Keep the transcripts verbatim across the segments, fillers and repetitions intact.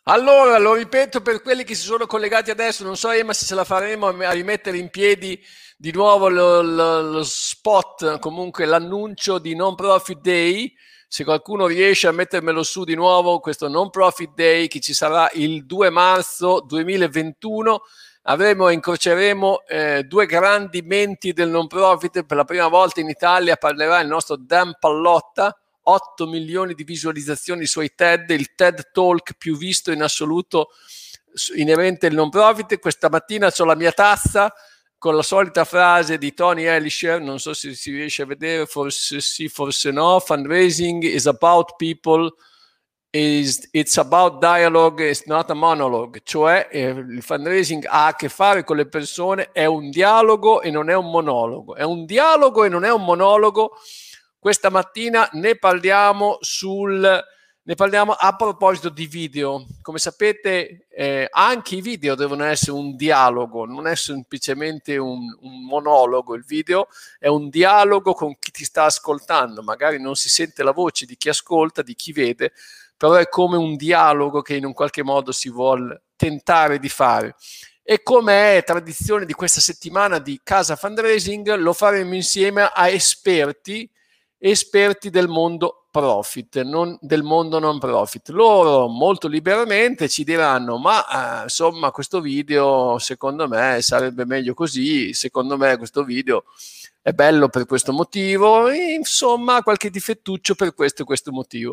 Allora, lo ripeto per quelli che si sono collegati adesso, non so Emma se ce la faremo a rimettere in piedi di nuovo lo, lo, lo spot, comunque l'annuncio di Non Profit Day, se qualcuno riesce a mettermelo su di nuovo, questo Non Profit Day che ci sarà il due marzo duemilaventuno, avremo e incroceremo eh, due grandi menti del non profit, per la prima volta in Italia parlerà il nostro Dan Pallotta, otto milioni di visualizzazioni sui TED, il TED Talk più visto in assoluto inerente al non profit. Questa mattina c'ho la mia tazza con la solita frase di Tony Elisher, non so se si riesce a vedere, forse sì, forse no. Fundraising is about people, is, it's about dialogue, it's not a monologue. Cioè eh, il fundraising ha a che fare con le persone, è un dialogo e non è un monologo, è un dialogo e non è un monologo. Questa mattina ne parliamo sul ne parliamo a proposito di video. Come sapete eh, anche i video devono essere un dialogo, non è semplicemente un, un monologo. Il video è un dialogo con chi ti sta ascoltando, magari non si sente la voce di chi ascolta, di chi vede, però è come un dialogo che in un qualche modo si vuole tentare di fare. E come è tradizione di questa settimana di Casa Fundraising, lo faremo insieme a esperti esperti del mondo profit, non del mondo non profit. Loro molto liberamente ci diranno: ma eh, insomma questo video secondo me sarebbe meglio così, secondo me questo video è bello per questo motivo, e, insomma qualche difettuccio per questo e questo motivo.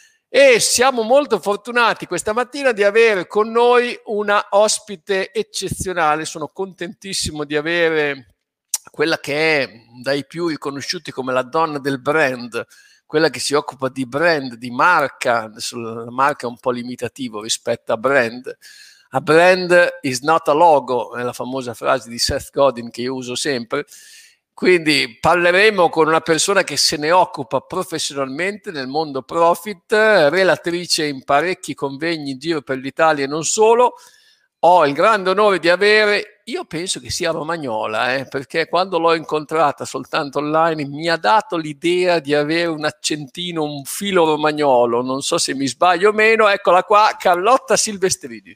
E siamo molto fortunati questa mattina di avere con noi una ospite eccezionale. Sono contentissimo di avere quella che è dai più riconosciuti come la donna del brand, quella che si occupa di brand, di marca. Adesso la marca è un po' limitativo rispetto a brand. A brand is not a logo, è la famosa frase di Seth Godin che io uso sempre. Quindi parleremo con una persona che se ne occupa professionalmente nel mondo profit, relatrice in parecchi convegni in giro per l'Italia e non solo. Ho il grande onore di avere, io penso che sia romagnola, eh, perché quando l'ho incontrata soltanto online mi ha dato l'idea di avere un accentino, un filo romagnolo, non so se mi sbaglio o meno. Eccola qua, Carlotta Silvestrini.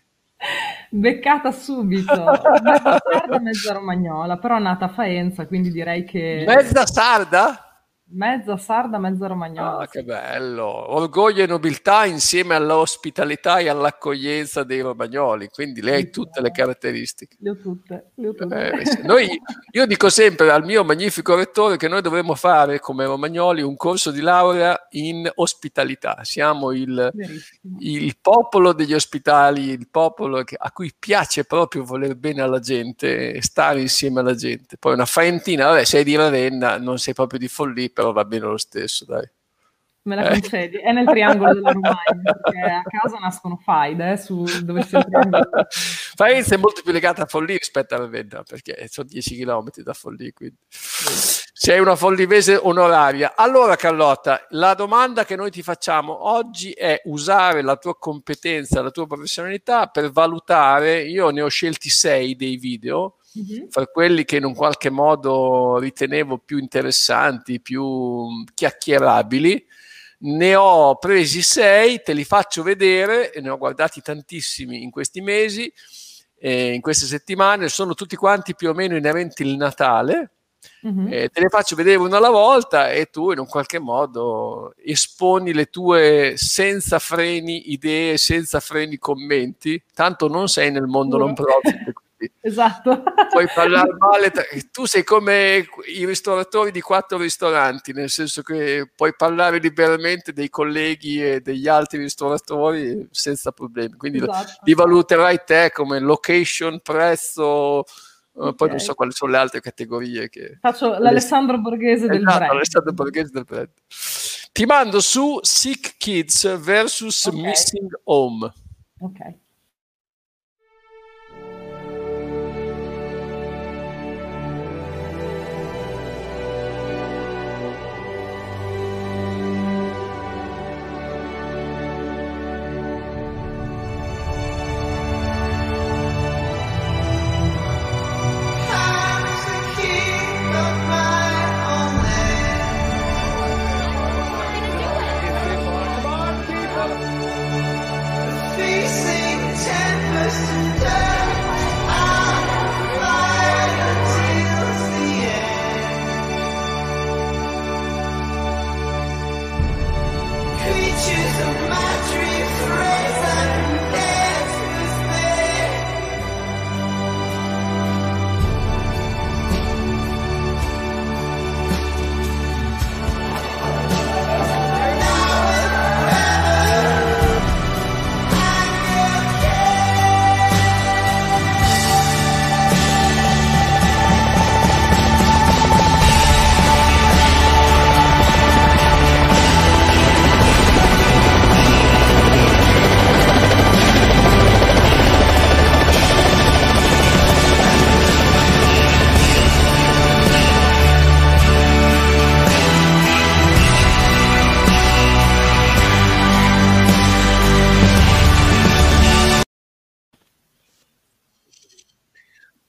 Beccata subito, mezza sarda, mezza romagnola, però nata a Faenza, quindi direi che... Mezza sarda? Mezza sarda, mezza romagnola. Ah, che bello! Orgoglio e nobiltà insieme all'ospitalità e all'accoglienza dei romagnoli, quindi lei hai tutte le caratteristiche. Le ho tutte, le ho tutte. Eh, noi, io dico sempre al mio magnifico rettore che noi dovremmo fare come romagnoli un corso di laurea in ospitalità. Siamo il, il popolo degli ospitali, il popolo che, a cui piace proprio voler bene alla gente e stare insieme alla gente. Poi una faentina, vabbè, sei di Ravenna, non sei proprio di Forlì, però va bene lo stesso, dai. Me la concedi? È nel triangolo della Romagna, perché a casa nascono faide, eh, su dove si è il triangolo. Faenza è molto più legata a Forlì rispetto a Ravenna, perché sono dieci chilometri da Forlì, quindi sei una follivese onoraria. Allora Carlotta, la domanda che noi ti facciamo oggi è usare la tua competenza, la tua professionalità per valutare. Io ne ho scelti sei dei video, mm-hmm. fra quelli che in un qualche modo ritenevo più interessanti, più chiacchierabili. Ne ho presi sei, te li faccio vedere, e ne ho guardati tantissimi in questi mesi, eh, in queste settimane, sono tutti quanti più o meno inerenti al Natale. Mm-hmm. eh, te le faccio vedere una alla volta e tu in un qualche modo esponi le tue senza freni idee, senza freni commenti, tanto non sei nel mondo non profit. Esatto. Puoi parlare male, tu sei come i ristoratori di quattro ristoranti, nel senso che puoi parlare liberamente dei colleghi e degli altri ristoratori senza problemi, quindi esatto. Li valuterai te come location, prezzo, okay. Poi non so quali sono le altre categorie che... Faccio l'Alessandro Borghese del esatto, brand. Alessandro Borghese del brand. Ti mando su Sick Kids versus okay. Missing Home. Ok. Facing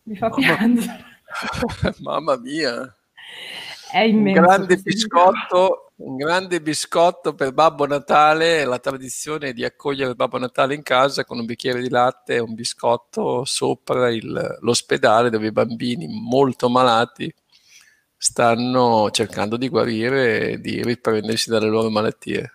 Mi fa Mamma, piangere. mamma mia. È Un immenso grande questo video. biscotto, un grande biscotto per Babbo Natale, la tradizione di accogliere Babbo Natale in casa con un bicchiere di latte e un biscotto sopra il- l'ospedale dove i bambini molto malati stanno cercando di guarire e di riprendersi dalle loro malattie.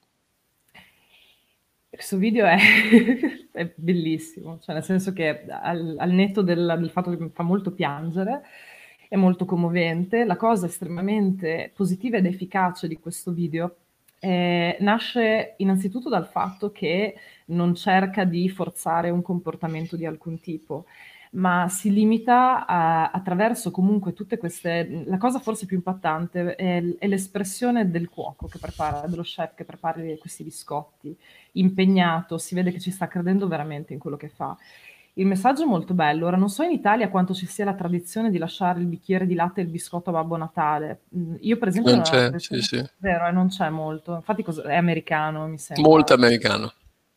Questo video è, è bellissimo, cioè nel senso che al, al netto del, del fatto che mi fa molto piangere, è molto commovente, la cosa estremamente positiva ed efficace di questo video eh, nasce innanzitutto dal fatto che non cerca di forzare un comportamento di alcun tipo, ma si limita a- attraverso comunque tutte queste... La cosa forse più impattante è, è l'espressione del cuoco che prepara, dello chef che prepara questi biscotti, impegnato, si vede che ci sta credendo veramente in quello che fa. Il messaggio è molto bello. Ora non so in Italia quanto ci sia la tradizione di lasciare il bicchiere di latte e il biscotto a Babbo Natale. Mm, Io per esempio Non non ho la c'è, sì, tradizione, sì, vero, e non c'è molto. Infatti cos- è americano, mi molto sembra. americano.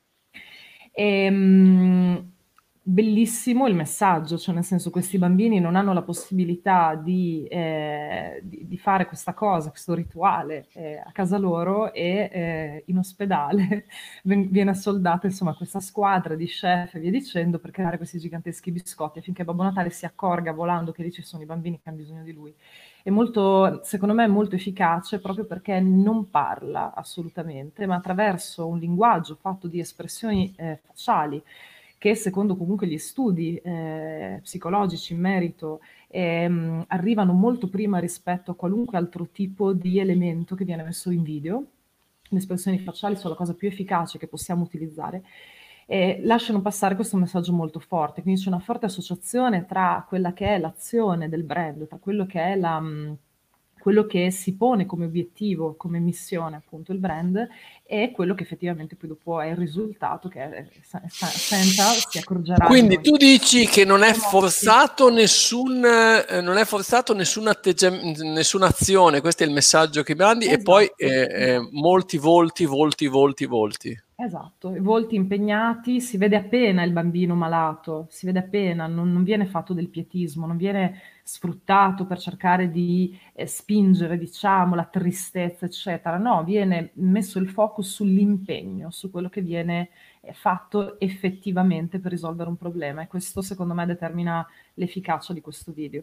Ehm, bellissimo il messaggio, cioè nel senso questi bambini non hanno la possibilità di, eh, di- di fare questa cosa, questo rituale eh, a casa loro e eh, in ospedale ven- viene assoldata insomma questa squadra di chef e via dicendo per creare questi giganteschi biscotti affinché Babbo Natale si accorga volando che lì ci sono i bambini che hanno bisogno di lui. È molto, secondo me, è molto efficace proprio perché non parla assolutamente, ma attraverso un linguaggio fatto di espressioni eh, facciali, che secondo comunque gli studi eh, psicologici in merito ehm, arrivano molto prima rispetto a qualunque altro tipo di elemento che viene messo in video. Le espressioni facciali sono la cosa più efficace che possiamo utilizzare e lasciano passare questo messaggio molto forte. Quindi c'è una forte associazione tra quella che è l'azione del brand, tra quello che è la, mh, quello che si pone come obiettivo, come missione, appunto, il brand, e quello che effettivamente poi dopo è il risultato che eh, sa- sa- Santa si accorgerà di Quindi noi. tu dici che non è Emozzi. forzato nessun, eh, non è forzato nessun atteggiamento, nessuna azione, questo è il messaggio che mandi, e poi Esatto, eh, eh, esatto. molti volti, volti, volti, volti. Esatto, i volti impegnati, si vede appena il bambino malato, si vede appena, non, non viene fatto del pietismo, non viene sfruttato per cercare di eh, spingere, diciamo, la tristezza, eccetera. No, viene messo il focus sull'impegno, su quello che viene eh, fatto effettivamente per risolvere un problema e questo secondo me determina l'efficacia di questo video.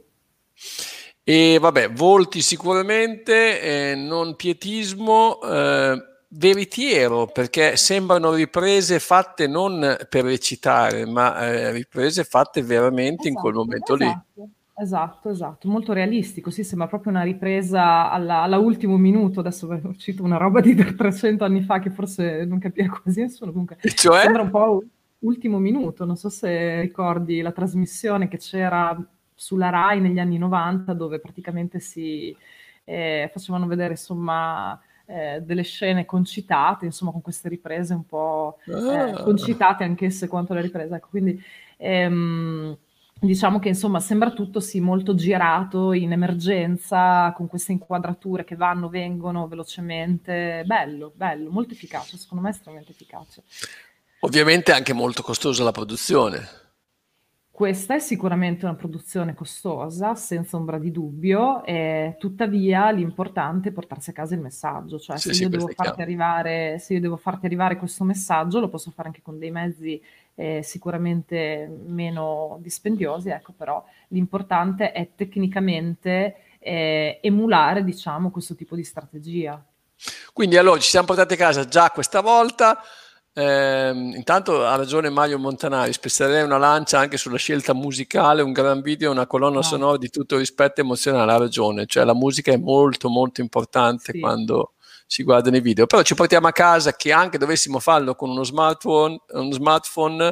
E vabbè, volti sicuramente, eh, non pietismo, eh, veritiero, perché sembrano riprese fatte non per recitare, ma eh, riprese fatte veramente in quel Esatto, momento lì. esatto, esatto, esatto, molto realistico, sì, sembra proprio una ripresa alla, alla ultimo minuto, adesso cito una roba di trecento anni fa che forse non capiva quasi nessuno, comunque E cioè? sembra un po' ultimo minuto, non so se ricordi la trasmissione che c'era sulla Rai negli anni novanta dove praticamente si eh, facevano vedere insomma eh, delle scene concitate, insomma con queste riprese un po' eh, Ah. concitate anch'esse quanto le riprese, ecco, quindi Ehm, diciamo che insomma sembra tutto sì molto girato in emergenza, con queste inquadrature che vanno, vengono velocemente. Bello, bello, molto efficace, secondo me estremamente efficace. Ovviamente è anche molto costosa la produzione. Questa è sicuramente una produzione costosa, senza ombra di dubbio, eh, tuttavia l'importante è portarsi a casa il messaggio, cioè Sì, se sì, io devo questo è farti chiaro. arrivare, se io devo farti arrivare questo messaggio, lo posso fare anche con dei mezzi eh, sicuramente meno dispendiosi, ecco, però l'importante è tecnicamente eh, emulare, diciamo, questo tipo di strategia. Quindi allora ci siamo portati a casa già questa volta. Ehm, intanto ha ragione Mario Montanari, spezzetterei una lancia anche sulla scelta musicale, un gran video, una colonna Ah, sonora di tutto rispetto emozionale, ha ragione, cioè la musica è molto molto importante sì, quando si guardano i video, però ci portiamo a casa che anche dovessimo farlo con uno smartphone, uno smartphone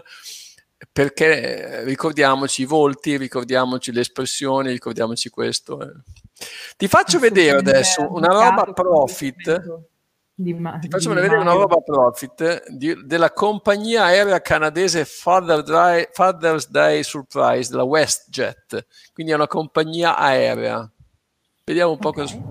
perché eh, ricordiamoci i volti, ricordiamoci le espressioni, ricordiamoci questo. eh. Ti faccio vedere assolutamente adesso una roba azzeccato questo profit. intervento di, Ma- Ti faccio di vedere una Mario. roba profit di- della compagnia aerea canadese Father Dry- Father's Day Surprise della WestJet. Quindi è una compagnia aerea. Vediamo un po' Ok. cosa.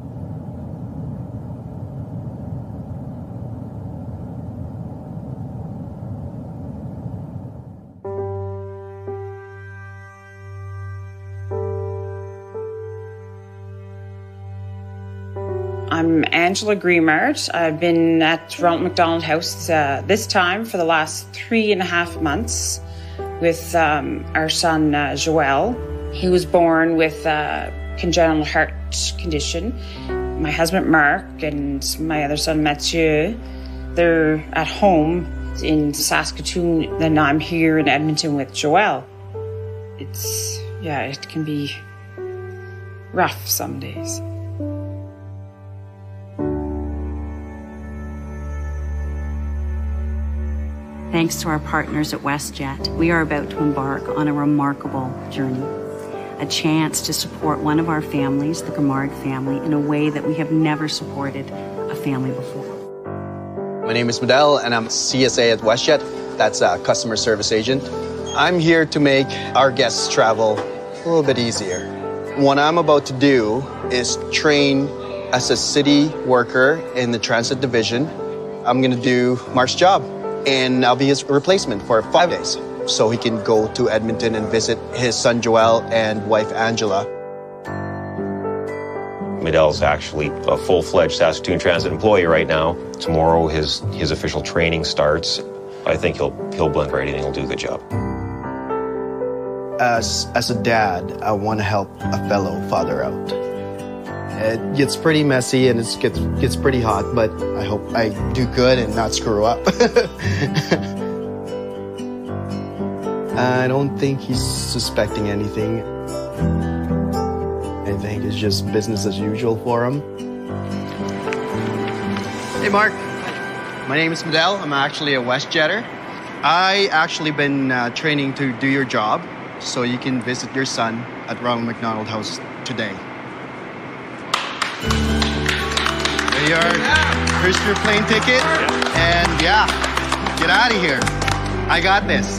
I'm Angela Greenmart. I've been at Ronald McDonald House uh, this time for the last three and a half months with um, our son uh, Joel. He was born with a congenital heart condition. My husband Mark and my other son Mathieu, they're at home in Saskatoon, and I'm here in Edmonton with Joel. It's, yeah, it can be rough some days. Thanks to our partners at WestJet, we are about to embark on a remarkable journey. A chance to support one of our families, the Grimard family, in a way that we have never supported a family before. My name is Medel, and I'm C S A at WestJet. That's a customer service agent. I'm here to make our guests' travel a little bit easier. What I'm about to do is train as a city worker in the transit division. I'm going to do Mark's job, and I'll be his replacement for five days. So he can go to Edmonton and visit his son Joel and wife Angela. Medel's actually a full-fledged Saskatoon Transit employee right now. Tomorrow his his official training starts. I think he'll he'll blend right in and he'll do a good job. As as a dad, I want to help a fellow father out. It gets pretty messy and it gets gets pretty hot, but I hope I do good and not screw up. I don't think he's suspecting anything. I think it's just business as usual for him. Hey, Mark. My name is Medel. I'm actually a WestJetter. I actually been uh, training to do your job, so you can visit your son at Ronald McDonald House today. There you are. Here's your plane ticket. And yeah, get out of here. I got this.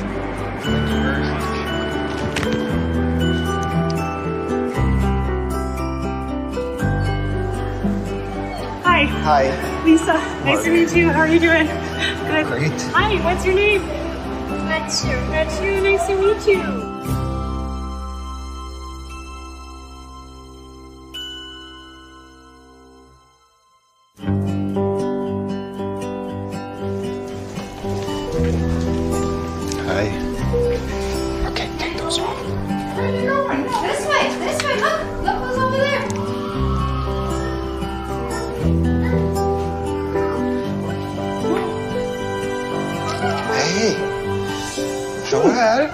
Hi. Hi. Lisa. Nice to meet you. How are you doing? Good. Great. Hi, what's your name? Mathieu. Mathieu, nice to meet you. Hi. Okay, take those off. Where are you going? This way, this way, look. Look who's over there. Hey. Joel.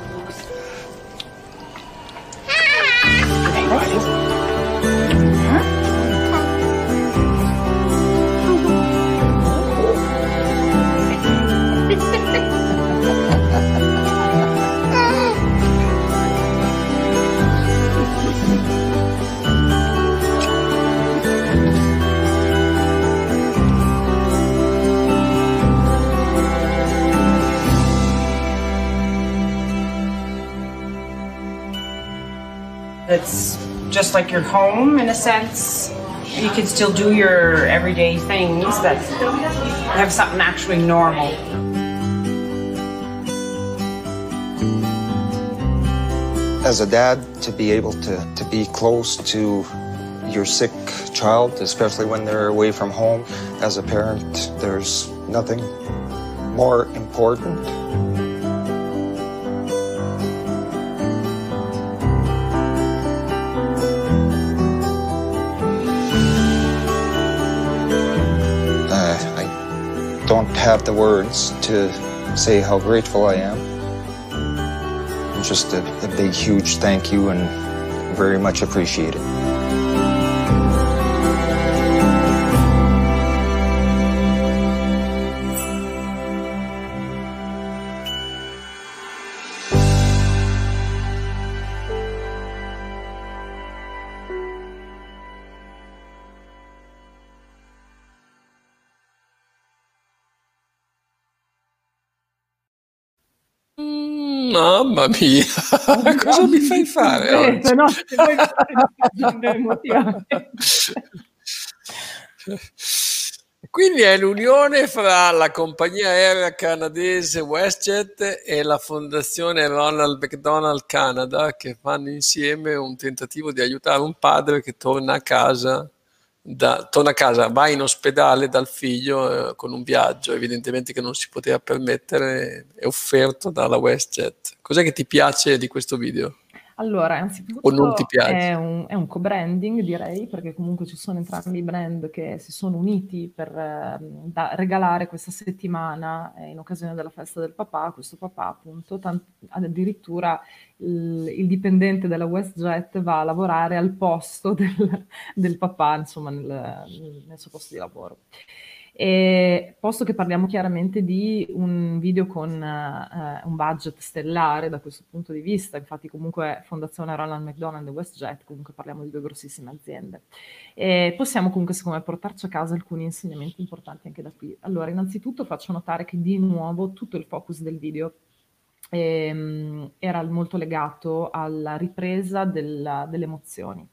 It's just like your home in a sense. You can still do your everyday things, but have something actually normal. As a dad, to be able to, to be close to your sick child, especially when they're away from home, as a parent, there's nothing more important. Don't have the words to say how grateful I am. Just a, a big, huge thank you and very much appreciated. Mamma mia, cosa mi fai fare Eh, oggi? no, se vuoi fare emotivamente. Quindi è l'unione fra la compagnia aerea canadese WestJet e la fondazione Ronald McDonald Canada che fanno insieme un tentativo di aiutare un padre che torna a casa da, torna a casa, va in ospedale dal figlio eh, con un viaggio evidentemente che non si poteva permettere, è offerto dalla WestJet. Cos'è che ti piace di questo video? Allora, O non ti innanzitutto piace? è un, è un co-branding, direi, perché comunque ci sono entrambi i brand che si sono uniti per eh, da- regalare questa settimana eh, in occasione della festa del papà, questo papà appunto, tant- addirittura il, il dipendente della WestJet va a lavorare al posto del, del papà, insomma, nel, nel suo posto di lavoro. E posto che parliamo chiaramente di un video con eh, un budget stellare da questo punto di vista, infatti comunque Fondazione Ronald McDonald e WestJet, comunque parliamo di due grossissime aziende. E possiamo comunque secondo me portarci a casa alcuni insegnamenti importanti anche da qui. Allora, innanzitutto faccio notare che di nuovo tutto il focus del video ehm, era molto legato alla ripresa della- delle emozioni.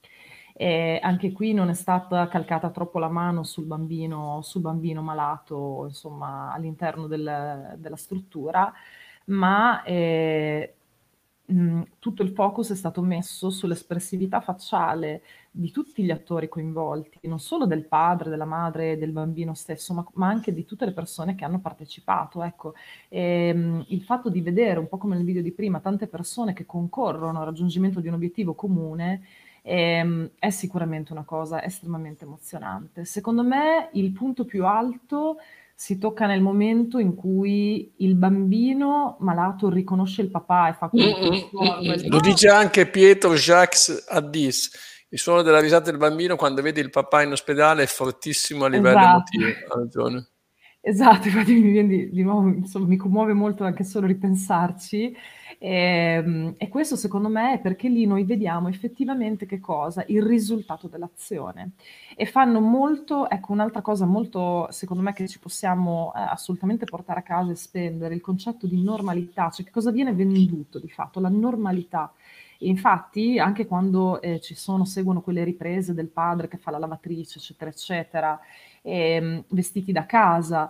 E anche qui non è stata calcata troppo la mano sul bambino, sul bambino malato, insomma, all'interno del- della struttura, ma eh, mh, tutto il focus è stato messo sull'espressività facciale di tutti gli attori coinvolti, non solo del padre, della madre, del bambino stesso, ma, ma anche di tutte le persone che hanno partecipato. Ecco, Ehm, il fatto di vedere, un po' come nel video di prima, tante persone che concorrono al raggiungimento di un obiettivo comune ehm, è sicuramente una cosa estremamente emozionante. Secondo me il punto più alto si tocca nel momento in cui il bambino malato riconosce il papà e fa Mm, quel, quel mm, suono, mm, quel mm. Lo dice anche Pietro Jacques Addis. Il suono della risata del bambino quando vede il papà in ospedale è fortissimo a livello esatto. emotivo. Ha ragione. Esatto, infatti mi viene di, di nuovo, insomma, mi commuove molto anche solo ripensarci. Ehm, E, questo secondo me è perché lì noi vediamo effettivamente che cosa? Il risultato dell'azione. E fanno molto, ecco, un'altra cosa molto, secondo me, che ci possiamo eh, assolutamente portare a casa e spendere, il concetto di normalità, cioè che cosa viene venduto di fatto, la normalità. Infatti, anche quando eh, ci sono, seguono quelle riprese del padre che fa la lavatrice, eccetera, eccetera, ehm, vestiti da casa,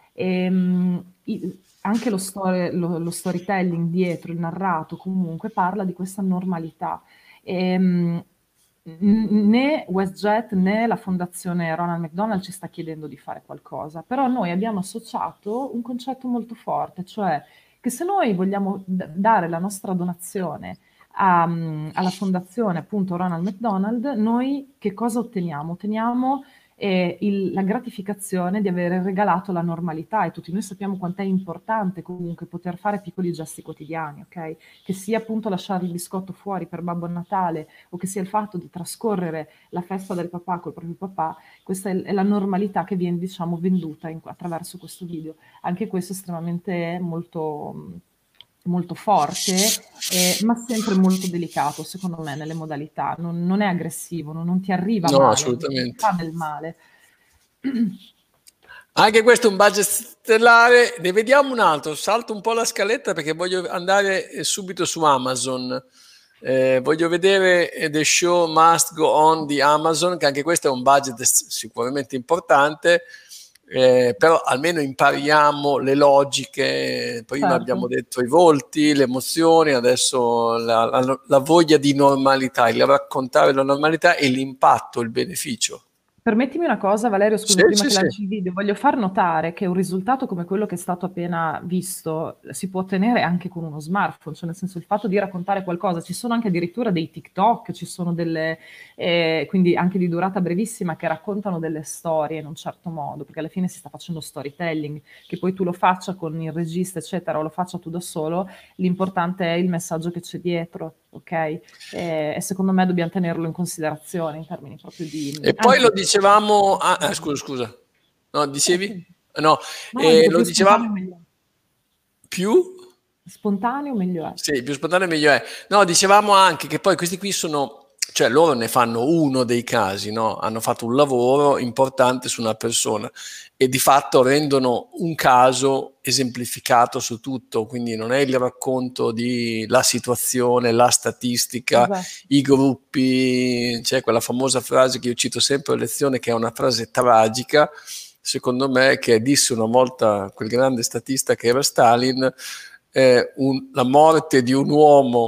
ehm, i- anche lo, story- lo- lo storytelling dietro, il narrato comunque parla di questa normalità. Ehm, n- né WestJet né la fondazione Ronald McDonald ci sta chiedendo di fare qualcosa, però noi abbiamo associato un concetto molto forte, cioè che se noi vogliamo d- dare la nostra donazione a- alla fondazione appunto Ronald McDonald, noi che cosa otteniamo? Otteniamo eh, il- la gratificazione di aver regalato la normalità, e tutti noi sappiamo quanto è importante comunque poter fare piccoli gesti quotidiani, ok? Che sia appunto lasciare il biscotto fuori per Babbo Natale o che sia il fatto di trascorrere la festa del papà col proprio papà, questa è, è la normalità che viene diciamo venduta in- attraverso questo video. Anche questo è estremamente molto molto forte, eh, ma sempre molto delicato, secondo me, nelle modalità. Non, non è aggressivo, non, non ti arriva No, male, non ti assolutamente. fa del male. Anche questo è un budget stellare. Ne vediamo un altro. Salto un po' la scaletta perché voglio andare eh, subito su Amazon. Eh, voglio vedere eh, The Show Must Go On di Amazon, che anche questo è un budget s- sicuramente importante. Eh, però almeno impariamo le logiche. Prima Certo. abbiamo detto i volti, le emozioni, adesso la, la- la voglia di normalità, il raccontare la normalità e l'impatto, il beneficio. Permettimi una cosa, Valerio, scusa, Sì, prima sì, che sì. lanci il video, voglio far notare che un risultato come quello che è stato appena visto si può ottenere anche con uno smartphone, cioè nel senso il fatto di raccontare qualcosa, ci sono anche addirittura dei TikTok, ci sono delle, eh, quindi anche di durata brevissima, che raccontano delle storie in un certo modo, perché alla fine si sta facendo storytelling, che poi tu lo faccia con il regista, eccetera, o lo faccia tu da solo, l'importante è il messaggio che c'è dietro, ok? E, e secondo me dobbiamo tenerlo in considerazione in termini proprio di... E poi anzi, lo dicevamo, ah, eh, scusa, scusa, no, Eh, dicevi? sì. No, No, eh, dico lo più spontaneo dicevamo meglio è. più? Spontaneo meglio è. Sì, più spontaneo meglio è. No, dicevamo anche che poi questi qui sono, cioè loro ne fanno uno dei casi, no? Hanno fatto un lavoro importante su una persona e di fatto rendono un caso esemplificato su tutto, quindi non è il racconto di la situazione, la statistica, Esatto. i gruppi, c'è quella famosa frase che io cito sempre a lezione, che è una frase tragica, secondo me, che disse una volta quel grande statista che era Stalin, eh, un, la morte di un uomo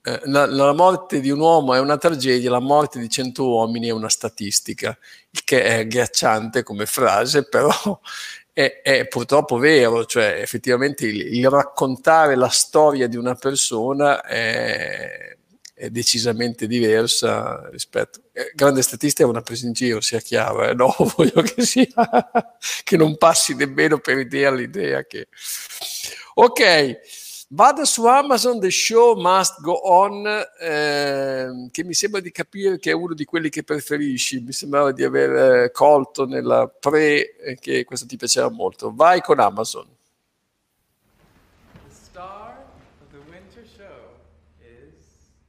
eh, la, la morte di un uomo è una tragedia, la morte di cento uomini è una statistica, il che è agghiacciante come frase, però è, è purtroppo vero, cioè effettivamente il, il raccontare la storia di una persona è, è decisamente diversa rispetto. Eh, grande statista è una presa in giro, sia chiaro, eh? No, voglio che sia che non passi nemmeno per idea l'idea che... Ok, vado su Amazon, The Show Must Go On, eh, che mi sembra di capire che è uno di quelli che preferisci, mi sembrava di aver eh, colto nella pre eh, che questo ti piaceva molto. Vai con Amazon. The star of the winter show is...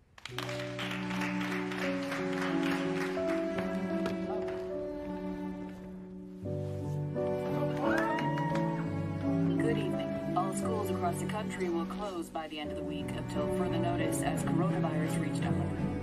Good evening. All schools across the country will close by the end of the week until further notice as coronavirus reached out.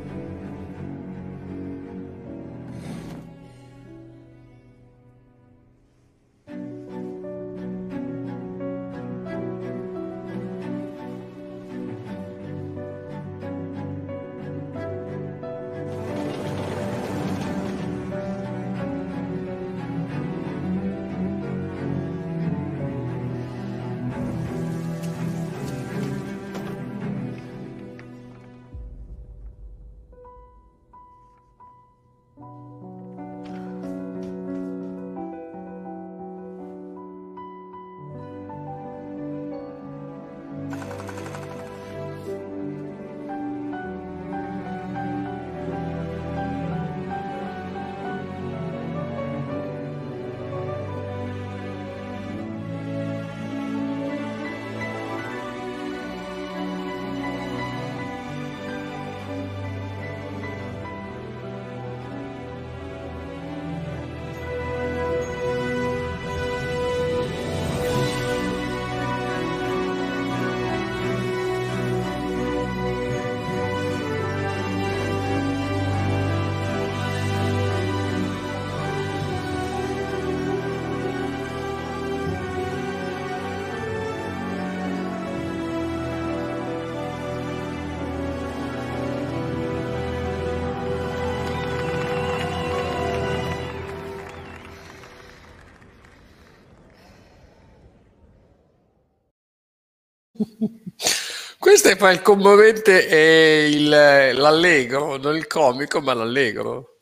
Questo è poi il commovente e il, l'allegro, non il comico, ma l'allegro.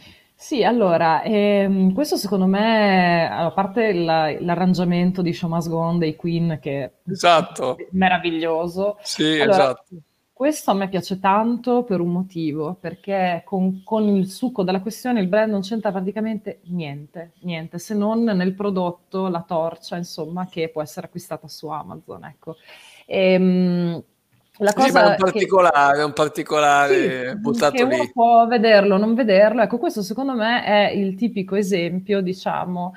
Sì, allora, ehm, questo secondo me, a parte la- l'arrangiamento di Show Must Go On dei Queen, che è Esatto. meraviglioso. Sì, Allora, esatto. questo a me piace tanto per un motivo, perché con, con il succo della questione il brand non c'entra praticamente niente, niente, se non nel prodotto, la torcia, insomma, che può essere acquistata su Amazon, ecco. Ehm, la Sì, ma è cosa un che... particolare, un Sì, particolare buttato che uno lì. può vederlo, non vederlo. Ecco, questo secondo me è il tipico esempio, diciamo,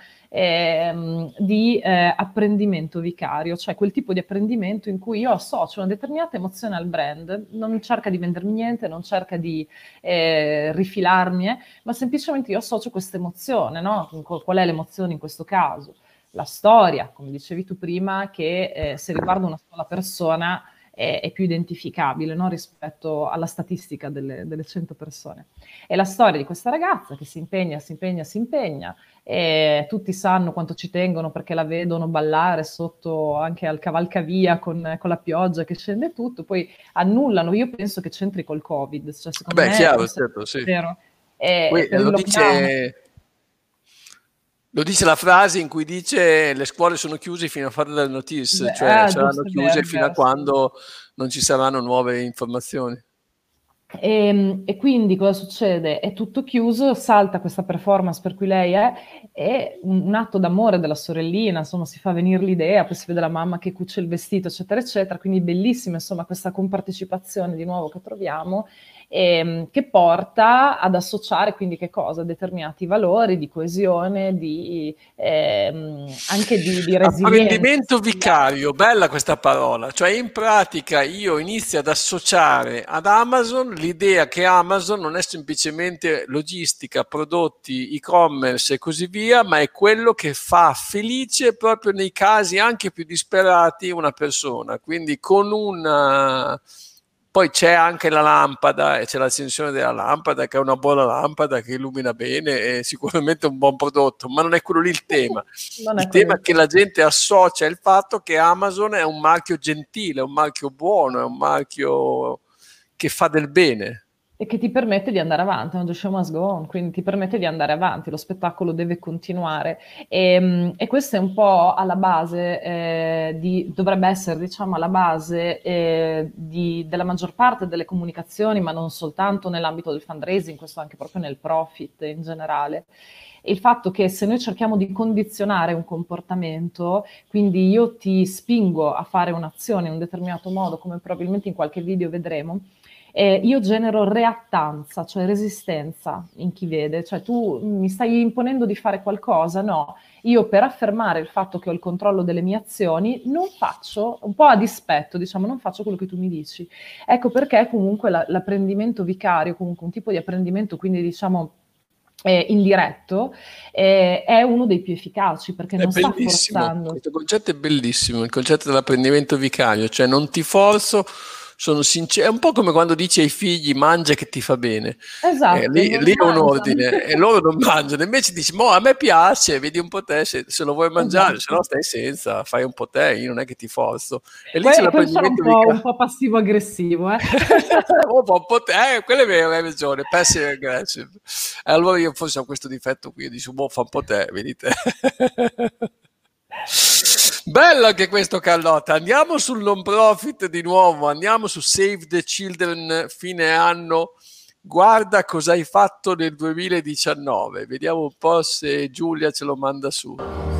ehm, di eh, apprendimento vicario, cioè quel tipo di apprendimento in cui io associo una determinata emozione al brand, non cerca di vendermi niente, non cerca di eh, rifilarmi, eh, ma semplicemente io associo questa emozione, no? Qual è l'emozione in questo caso? La storia, come dicevi tu prima, che eh, se riguarda una sola persona è, è più identificabile, no? Rispetto alla statistica delle, delle cento persone. È la storia di questa ragazza che si impegna, si impegna, si impegna, e tutti sanno quanto ci tengono perché la vedono ballare sotto anche al cavalcavia con, con la pioggia che scende tutto, poi annullano. Io penso che c'entri col Covid, cioè secondo Beh, me chiaro, forse certo, sì. è vero. È, Poi, è per eh, il lo lockdown. dice, lo dice la frase in cui dice le scuole sono chiuse fino a fare le notizie, Beh, cioè ah, saranno giusto, è vero, chiuse è fino a vero, sì. quando non ci saranno nuove informazioni. E, e quindi cosa succede? È tutto chiuso, salta questa performance per cui lei è, è un, un atto d'amore della sorellina, insomma si fa venire l'idea, poi si vede la mamma che cuce il vestito, eccetera, eccetera, quindi bellissima, insomma, questa compartecipazione di nuovo che troviamo, ehm, che porta ad associare quindi che cosa? Determinati valori di coesione, di, ehm, anche di, di resilienza. Apprendimento vicario, bella questa parola, cioè in pratica io inizio ad associare ad Amazon l'idea che Amazon non è semplicemente logistica, prodotti, e-commerce e così via, ma è quello che fa felice proprio nei casi anche più disperati una persona, quindi con una Poi c'è anche la lampada e c'è l'accensione della lampada, che è una buona lampada che illumina bene, è sicuramente un buon prodotto, ma non è quello lì il tema. Non è Il tema quello. è che la gente associa il fatto che Amazon è un marchio gentile, è un marchio buono, è un marchio che fa del bene. E che ti permette di andare avanti, no? The show must go on, quindi ti permette di andare avanti, lo spettacolo deve continuare e, mh, e questo è un po' alla base eh, di, dovrebbe essere diciamo alla base eh, di, della maggior parte delle comunicazioni, ma non soltanto nell'ambito del fundraising, questo anche proprio nel profit in generale. Il fatto che se noi cerchiamo di condizionare un comportamento, quindi io ti spingo a fare un'azione in un determinato modo, come probabilmente in qualche video vedremo, Eh, io genero reattanza, cioè resistenza in chi vede, cioè tu mi stai imponendo di fare qualcosa, no, io per affermare il fatto che ho il controllo delle mie azioni non faccio, un po' a dispetto, diciamo, non faccio quello che tu mi dici. Ecco perché comunque la, l'apprendimento vicario, comunque un tipo di apprendimento, quindi diciamo eh, indiretto, eh, è uno dei più efficaci perché È non sta bellissimo, forzando. questo concetto è bellissimo, il concetto dell'apprendimento vicario, cioè non ti forzo, sono sincero, è un po' come quando dici ai figli mangia che ti fa bene. Esatto, Eh, lì, non lì è un mangiano. ordine e loro non mangiano, invece dici mo a me piace, vedi un po' te se, se lo vuoi mangiare, se Esatto. no stai senza, fai un po' te, io non è che ti forzo. E lì Que- c'è questo è un l'apprendimento po', un vicario. po' passivo-aggressivo, eh? un po', un po' te, eh, quello è vero, hai ragione, passive aggressive. E allora io forse ho questo difetto qui, io dico boh, fa un po' te, vedi te. Bello anche questo, Carlotta. Andiamo sul non profit di nuovo, andiamo su Save the Children fine anno. Guarda cosa hai fatto nel duemiladiciannove. Vediamo un po' se Giulia ce lo manda su.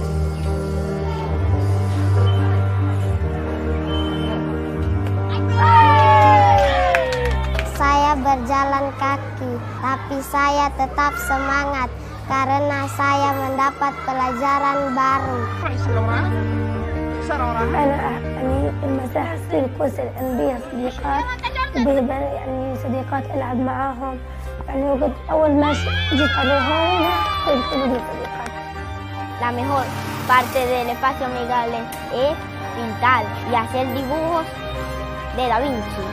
Saya berjalan kaki, tapi saya tetap semangat karena saya mendapat pelajaran baru. أنا يعني المساحة تصير كويس لأن بيها صديقات وبيها يعني صديقات ألعب معاهم يعني وقت أول ما جيت عليهم صرت لي صديقات. La mejor parte del espacio amigable es pintar y hacer dibujos de Da Vinci.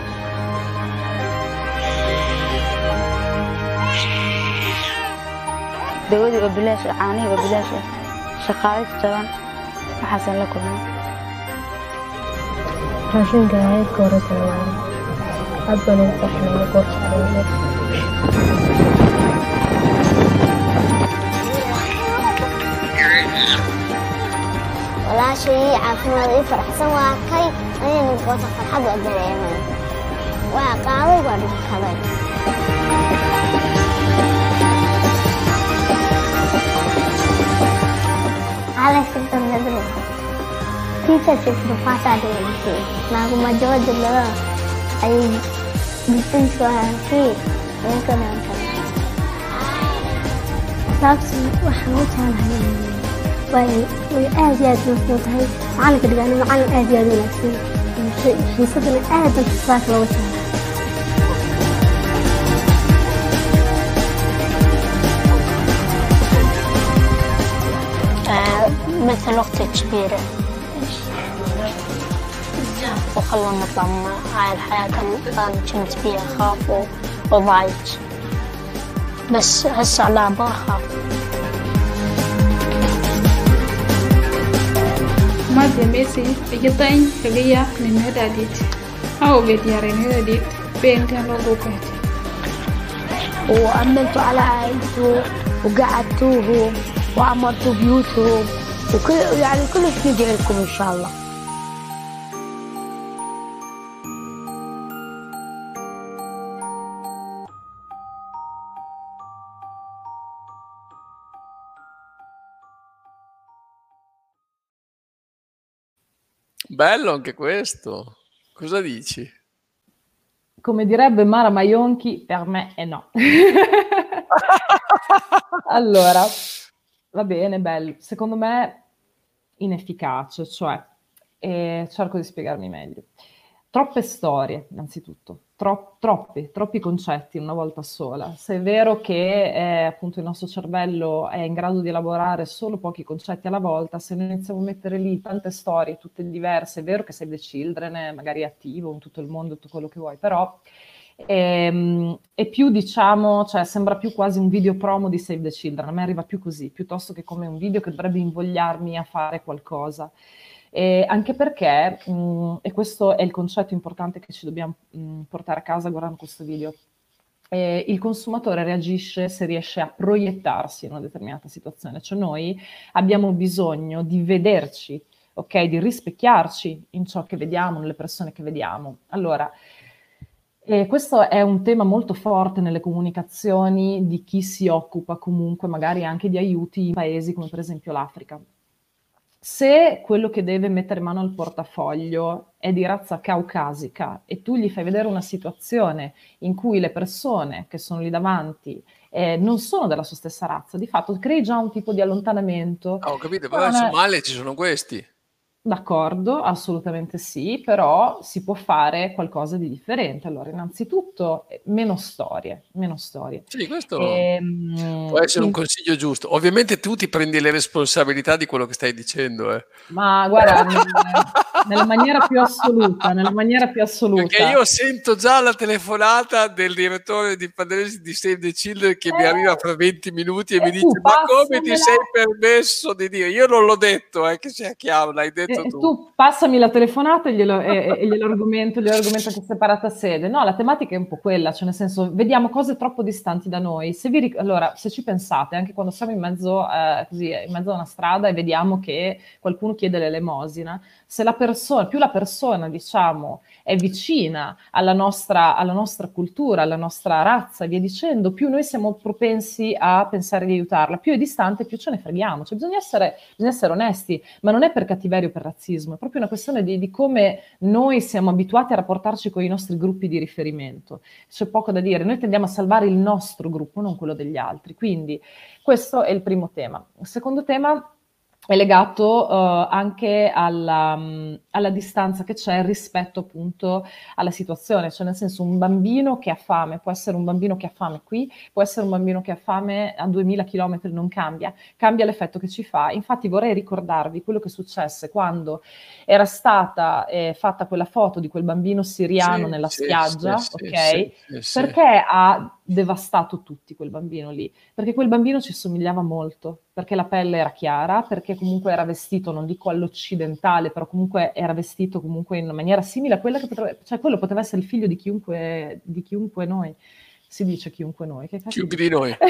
داود وبلاش عاني وبلاش شقائق طبعا وحسن لكم raashin gaayad goorasanayo hadbana waxna goorsaday walaashii caafimaad ii faraxsan waa kay ayaynu goota farxad oo dareemay waa qaaday waa dhibkaday على فكرة ندرو كيف تفكر فاتح دلوقتي ناقو مجهود الله أي بنتين سواها كي ممكن أنت لابس وحموتها هاي وي وي آزياد مفروض هاي معنا كده يعني معنا آزياد ونفسي في صدنا آزياد تصفات لوتها مثل أختي كبيرة وخلونا نطلع مع هاي الحياة كنت فيها أخاف وضايج بس هسه لا ما أخاف Madde Messi ikitain kaliya ninadadit awgeed yarinadadit beentan loogu qaatay وأمنت على عائلته وقعدتوهم وعمرت بيوتهم وكل يعني كل شيء ندعي لكم إن شاء الله. Bello anche questo. Cosa dici? Come direbbe Mara Maionchi, per me è no. Allora, va bene, bello. Secondo me inefficace, cioè, eh, cerco di spiegarmi meglio. Troppe storie, innanzitutto. tro- troppi, troppi concetti in una volta sola. Se è vero che eh, appunto il nostro cervello è in grado di elaborare solo pochi concetti alla volta, se noi iniziamo a mettere lì tante storie, tutte diverse, è vero che Save the Children è magari attivo in tutto il mondo, tutto quello che vuoi, però è, è più, diciamo, cioè sembra più quasi un video promo di Save the Children, a me arriva più così, piuttosto che come un video che dovrebbe invogliarmi a fare qualcosa. E anche perché, mh, e questo è il concetto importante che ci dobbiamo mh, portare a casa guardando questo video, eh, il consumatore reagisce se riesce a proiettarsi in una determinata situazione, cioè noi abbiamo bisogno di vederci, ok, di rispecchiarci in ciò che vediamo, nelle persone che vediamo. Allora, eh, questo è un tema molto forte nelle comunicazioni di chi si occupa comunque magari anche di aiuti in paesi come per esempio l'Africa. Se quello che deve mettere mano al portafoglio è di razza caucasica e tu gli fai vedere una situazione in cui le persone che sono lì davanti eh, non sono della sua stessa razza, di fatto crei già un tipo di allontanamento. Ah, ho capito, però in Somalia ci sono questi. D'accordo, assolutamente sì, però si può fare qualcosa di differente. Allora, innanzitutto, meno storie, meno storie. Sì, questo Ehm, può essere un in- consiglio giusto. Ovviamente tu ti prendi le responsabilità di quello che stai dicendo, eh. Ma guarda, nel- nella maniera più assoluta, nella maniera più assoluta. Perché io sento già la telefonata del direttore di Padresi di Save the Children che mi arriva fra venti minuti e mi dice: tu ma come ti passamela." sei permesso di dire? Io non l'ho detto, eh, che sia chiaro, l'hai detto E, e tu. tu passami la telefonata e glielo, e, e glielo argomento, glielo argomento anche separata sede. No, la tematica è un po' quella, cioè nel senso, vediamo cose troppo distanti da noi. Se vi ric- allora, se ci pensate, anche quando siamo in mezzo, eh, così, in mezzo a una strada e vediamo che qualcuno chiede l'elemosina, se la persona, più la persona, diciamo, è vicina alla nostra, alla nostra cultura, alla nostra razza e via dicendo, più noi siamo propensi a pensare di aiutarla, più è distante, più ce ne freghiamo. Cioè bisogna essere, bisogna essere onesti, ma non è per cattiveria o per razzismo, è proprio una questione di, di come noi siamo abituati a rapportarci con i nostri gruppi di riferimento. C'è poco da dire, noi tendiamo a salvare il nostro gruppo, non quello degli altri. Quindi questo è il primo tema. Il secondo tema è legato uh, anche alla, um, alla distanza che c'è rispetto appunto alla situazione, cioè nel senso un bambino che ha fame può essere un bambino che ha fame qui, può essere un bambino che ha fame a duemila chilometri, non cambia, cambia l'effetto che ci fa. Infatti vorrei ricordarvi quello che successe quando era stata eh, fatta quella foto di quel bambino siriano Sì, nella sì, spiaggia, sì, ok? sì, sì, sì. Perché ha devastato tutti quel bambino lì? Perché quel bambino ci somigliava molto, perché la pelle era chiara, perché comunque era vestito, non dico all'occidentale, però comunque era vestito comunque in una maniera simile a quella che poteva, cioè quello poteva essere il figlio di chiunque, di chiunque noi. Si dice chiunque noi, che cazzo Chiunque dice? di noi.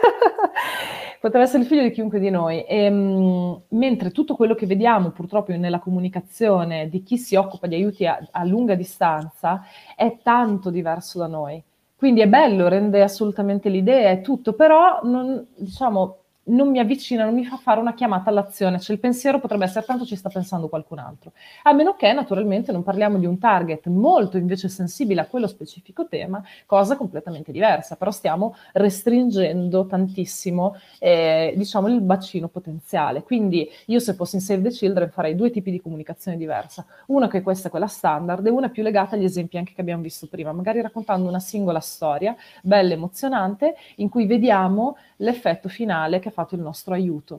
Poteva essere il figlio di chiunque di noi. E, mh, mentre tutto quello che vediamo purtroppo nella comunicazione di chi si occupa di aiuti a, a lunga distanza è tanto diverso da noi. Quindi è bello, rende assolutamente l'idea e tutto, però non, diciamo, non mi avvicina, non mi fa fare una chiamata all'azione, cioè il pensiero potrebbe essere tanto ci sta pensando qualcun altro, a meno che naturalmente non parliamo di un target molto invece sensibile a quello specifico tema, cosa completamente diversa, però stiamo restringendo tantissimo eh, diciamo il bacino potenziale. Quindi io se fossi in Save the Children farei due tipi di comunicazione diversa, una che questa è quella standard e una più legata agli esempi anche che abbiamo visto prima, magari raccontando una singola storia bella, emozionante, in cui vediamo l'effetto finale che ha fatto il nostro aiuto.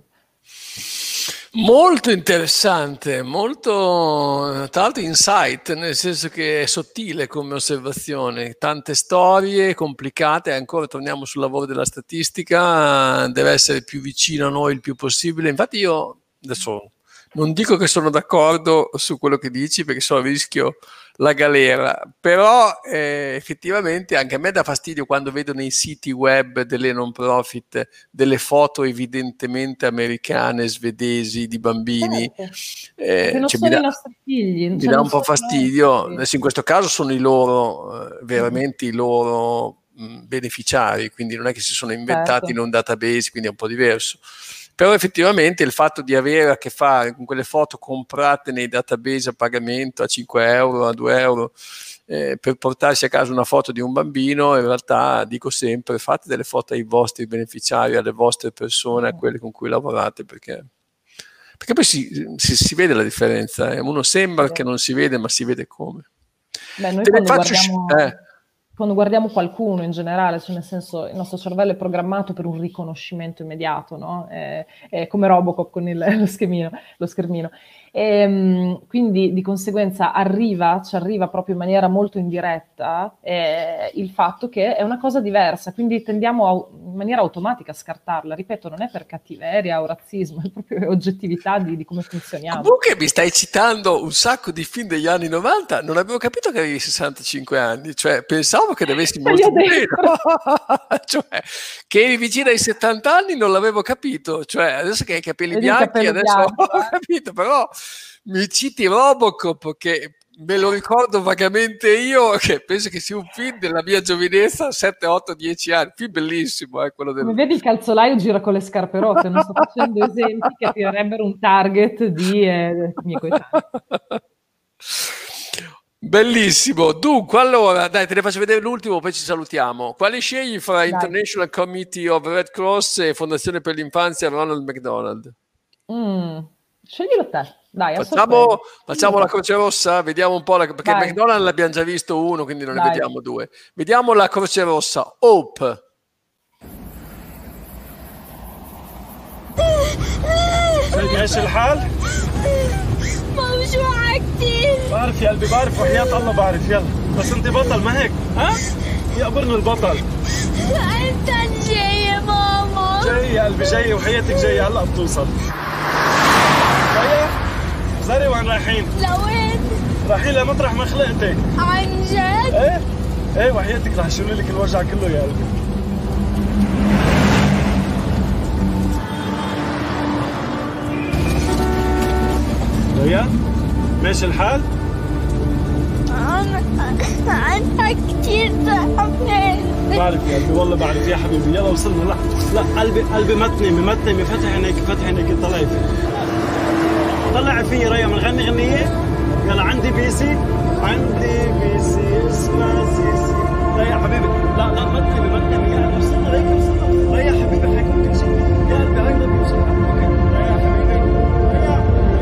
Molto interessante, molto, tra l'altro insight, nel senso che è sottile come osservazione, tante storie complicate, ancora torniamo sul lavoro della statistica, deve essere più vicino a noi il più possibile. Infatti io adesso non dico che sono d'accordo su quello che dici perché so a rischio la galera, però eh, effettivamente anche a me dà fastidio quando vedo nei siti web delle non profit delle foto evidentemente americane, svedesi di bambini. Certo, eh, che non cioè, sono mi dà, i nostri figli. mi Cioè dà non un po' sono fastidio, nostri. adesso in questo caso sono i loro, eh, veramente i loro mh, beneficiari, quindi non è che si sono inventati Certo. in un database, quindi è un po' diverso. Però effettivamente il fatto di avere a che fare con quelle foto comprate nei database a pagamento a cinque euro, a due euro, eh, per portarsi a casa una foto di un bambino, in realtà dico sempre fate delle foto ai vostri beneficiari, alle vostre persone, a quelle con cui lavorate, perché, perché poi si, si, si vede la differenza, eh. Uno sembra Sì. che non si vede, ma si vede come. Beh, noi Te ne quando faccio guardiamo... sc- eh. quando guardiamo qualcuno in generale, cioè nel senso il nostro cervello è programmato per un riconoscimento immediato, no? È, è come Robocop con il, lo, schemino, lo schermino. E, quindi di conseguenza arriva, ci arriva proprio in maniera molto indiretta eh, il fatto che è una cosa diversa, quindi tendiamo a, in maniera automatica a scartarla. Ripeto, non è per cattiveria o razzismo, è proprio oggettività di, di come funzioniamo. Comunque mi stai citando un sacco di film degli anni novanta, non avevo capito che avevi sessantacinque anni, cioè pensavo che ne avessi molto meno, cioè che eri vicino ai settanta anni non l'avevo capito, cioè adesso che hai i capelli Vedi bianchi capello adesso bianco, ho eh? capito, però mi citi Robocop che me lo ricordo vagamente io, che penso che sia un film della mia giovinezza, sette, otto, dieci anni, film bellissimo, eh, quello del... Come vedi il calzolaio gira con le scarpe rotte, non sto facendo esempi che attirebbero un target di eh, miei coetanei. Bellissimo, dunque allora dai te ne faccio vedere l'ultimo poi ci salutiamo. Quali scegli fra Dai. International Committee of Red Cross e Fondazione per l'Infanzia Ronald McDonald? Mm, sceglilo te, dai, a Facciamo, sorpresa. facciamo la Croce Rossa, vediamo un po', la, perché Vai. McDonald l'abbiamo già visto uno, quindi non ne Dai. vediamo due. Vediamo la Croce Rossa, Hope. سيدي ايش الحال؟ موجوعة كتير. بعرف يا قلبي بعرف وحياة الله بعرف يلا بس انت بطل ما هيك ها؟ يقبرني البطل. انت جاي يا ماما. جاي يا قلبي جاي وحياتك جاي هلا بتوصل. طيب زاري وين رايحين؟ لوين؟ رايحين لمطرح ما خلقتي. عن جد؟ ايه ايه وحياتك رح اشيل لك الوجع كله يا قلبي. ريا ماشي الحال؟ أنا أنا كتير تعبان. بعرف يا قلبي والله بعرف يا حبيبي يلا وصلنا لا لا قلبي قلبي ما تنامي ما تنامي فتح عينيك فتح عينيك طلعي في طلعي في ريا بنغني غنية يلا عندي بيسي عندي بيسي اسمها سيسي ريا حبيبي لا لا ما تنامي ما تنامي يا وصلنا ريا وصلنا ريا حبيبي هيك ممكن شيء يا قلبي هيك ممكن شيء ريا حبيبي ريا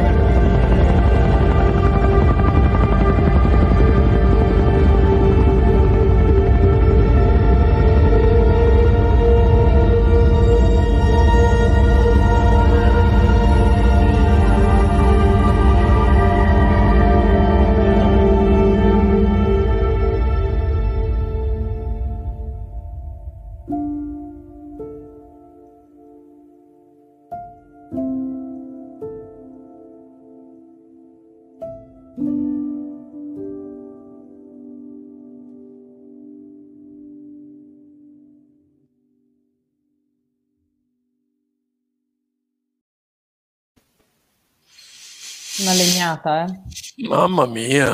Una legnata, eh? Mamma mia.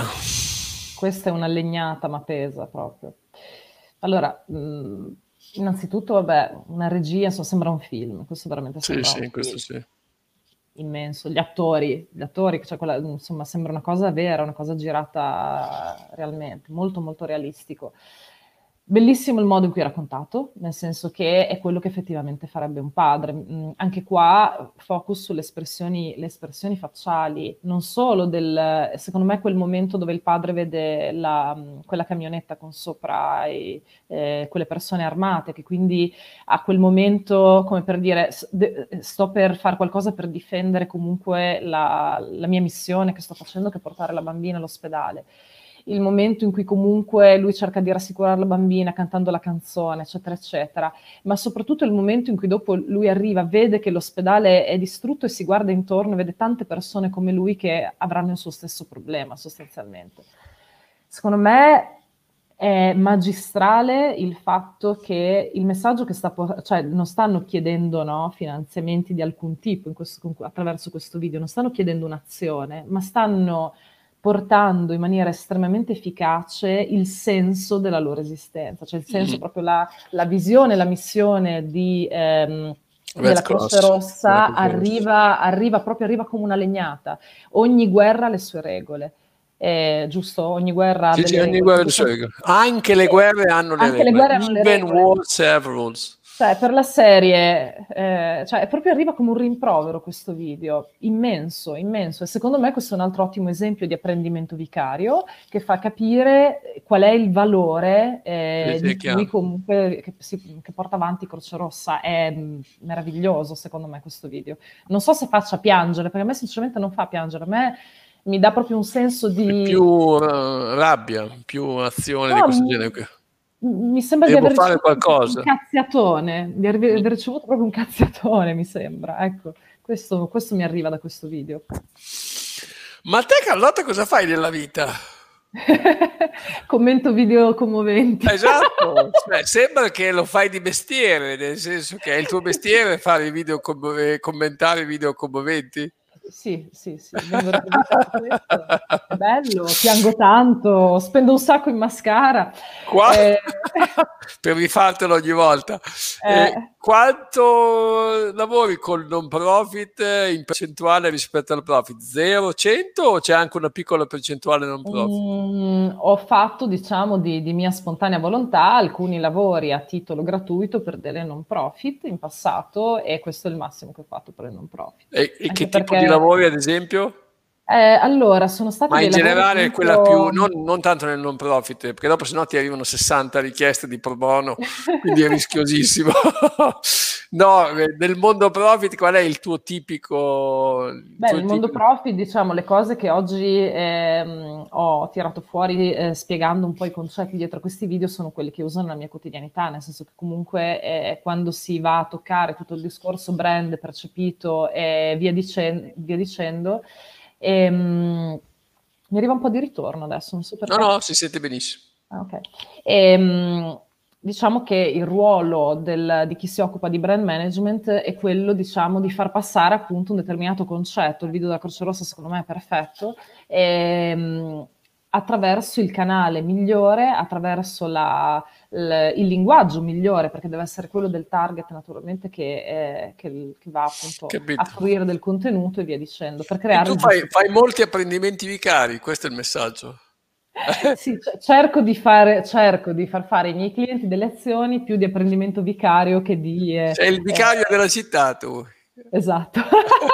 Questa è una legnata, ma pesa proprio. Allora, mh, innanzitutto, vabbè, una regia, insomma, sembra un film. Questo veramente Sì, sembra sì, un questo film. sì. Immenso. Gli attori, gli attori, cioè quella, insomma, sembra una cosa vera, una cosa girata realmente, molto, molto realistico. Bellissimo il modo in cui è raccontato, nel senso che è quello che effettivamente farebbe un padre. Mm, anche qua focus sulle espressioni, le espressioni facciali, non solo del, secondo me, quel momento dove il padre vede la, quella camionetta con sopra i, eh, quelle persone armate, che quindi a quel momento, come per dire, s- de- sto per fare qualcosa per difendere comunque la, la mia missione che sto facendo, che è portare la bambina all'ospedale. Il momento in cui comunque lui cerca di rassicurare la bambina cantando la canzone, eccetera, eccetera, ma soprattutto il momento in cui dopo lui arriva, vede che l'ospedale è distrutto e si guarda intorno e vede tante persone come lui che avranno il suo stesso problema, sostanzialmente. Secondo me è magistrale il fatto che il messaggio che sta, por- cioè non stanno chiedendo, no, finanziamenti di alcun tipo in questo- attraverso questo video, non stanno chiedendo un'azione, ma stanno portando in maniera estremamente efficace il senso della loro esistenza, cioè il senso, Mm. proprio la, la visione, la missione di, ehm, della Cross. Croce Rossa Red Cross. arriva, arriva proprio arriva come una legnata. Ogni guerra ha le sue regole, eh, giusto? Ogni guerra ha Sì, delle sì, ogni regole. guerra ha le sue regole. Anche le guerre hanno le Anche le regole. guerre hanno le Even regole. wars have rules. Cioè, per la serie, eh, cioè, proprio arriva come un rimprovero questo video, immenso, immenso. E secondo me questo è un altro ottimo esempio di apprendimento vicario che fa capire qual è il valore eh, Sì, sì, di cui comunque che, si, che porta avanti Croce Rossa. È mh, meraviglioso, secondo me, questo video. Non so se faccia piangere, perché a me sinceramente non fa piangere, a me mi dà proprio un senso di... Più uh, rabbia, più azione No, di questo mi- genere. Mi sembra Devo di aver fare ricevuto qualcosa. un cazziatone, di aver aver ricevuto proprio un cazziatone, mi sembra. Ecco, questo, questo mi arriva da questo video. Ma te, Carlotta, cosa fai nella vita? Commento video commoventi. Esatto, cioè, sembra che lo fai di mestiere, nel senso che è il tuo mestiere fare i video commo- commentare i video commoventi. Sì, sì, sì, vengo riproduciata questo. È bello, piango tanto, spendo un sacco in mascara. Qua? Eh, Per rifartelo ogni volta. Eh. Eh, quanto lavori col non profit in percentuale rispetto al profit? zero, cento o c'è anche una piccola percentuale non profit? Mm, ho fatto, diciamo, di, di mia spontanea volontà alcuni lavori a titolo gratuito per delle non profit in passato e questo è il massimo che ho fatto per le non profit. E, e Anche che tipo perché- di lavori, ad esempio? Eh, allora, sono stati Ma in dei lavori generale molto- quella più, non, non tanto nel non profit, perché dopo sennò ti arrivano sessanta richieste di pro bono, quindi è rischiosissimo. No, eh, nel mondo profit qual è il tuo tipico... il Beh, tuo nel mondo tipico- profit, diciamo, le cose che oggi ehm, ho tirato fuori eh, spiegando un po' i concetti dietro a questi video sono quelli che uso nella mia quotidianità, nel senso che comunque eh, quando si va a toccare tutto il discorso brand percepito e via, dicen- via dicendo, ehm, mi arriva un po' di ritorno adesso, non so perché. No, no, si sente benissimo. Ah, ok. Ehm, diciamo che il ruolo del- di chi si occupa di brand management è quello, diciamo, di far passare appunto un determinato concetto. Il video della Croce Rossa secondo me è perfetto, ehm, attraverso il canale migliore, attraverso la- il, il linguaggio migliore, perché deve essere quello del target naturalmente che, eh, che- che va appunto Capito. a fruire del contenuto e via dicendo, per E creare tu il fai, giusto- fai molti apprendimenti vicari, questo è il messaggio. Sì, c- cerco di fare, cerco di far fare ai miei clienti delle azioni più di apprendimento vicario che di... eh, Sei il vicario eh, della città, tu. esatto.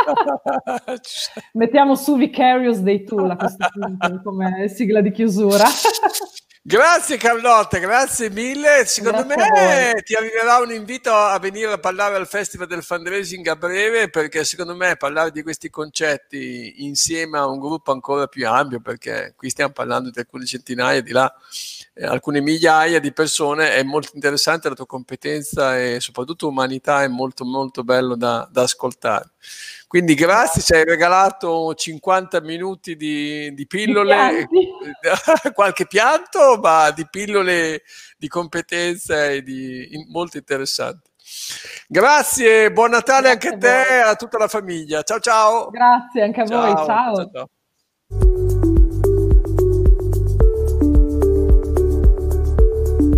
Mettiamo su Vicarious dei Tool a questo punto come sigla di chiusura. Grazie Carlotta, grazie mille. Secondo Grazie a me voi. ti arriverà un invito a venire a parlare al Festival del Fundraising a breve, perché secondo me parlare di questi concetti insieme a un gruppo ancora più ampio, perché qui stiamo parlando di alcune centinaia, di là eh, alcune migliaia di persone, è molto interessante la tua competenza e soprattutto umanità, è molto molto bello da, da ascoltare. Quindi grazie, ci hai regalato cinquanta minuti di, di pillole, qualche pianto, ma di pillole di competenza e di in- molto interessanti. Grazie, buon Natale anche a te e a tutta la famiglia. Ciao ciao. Grazie anche a voi, ciao. ciao, ciao.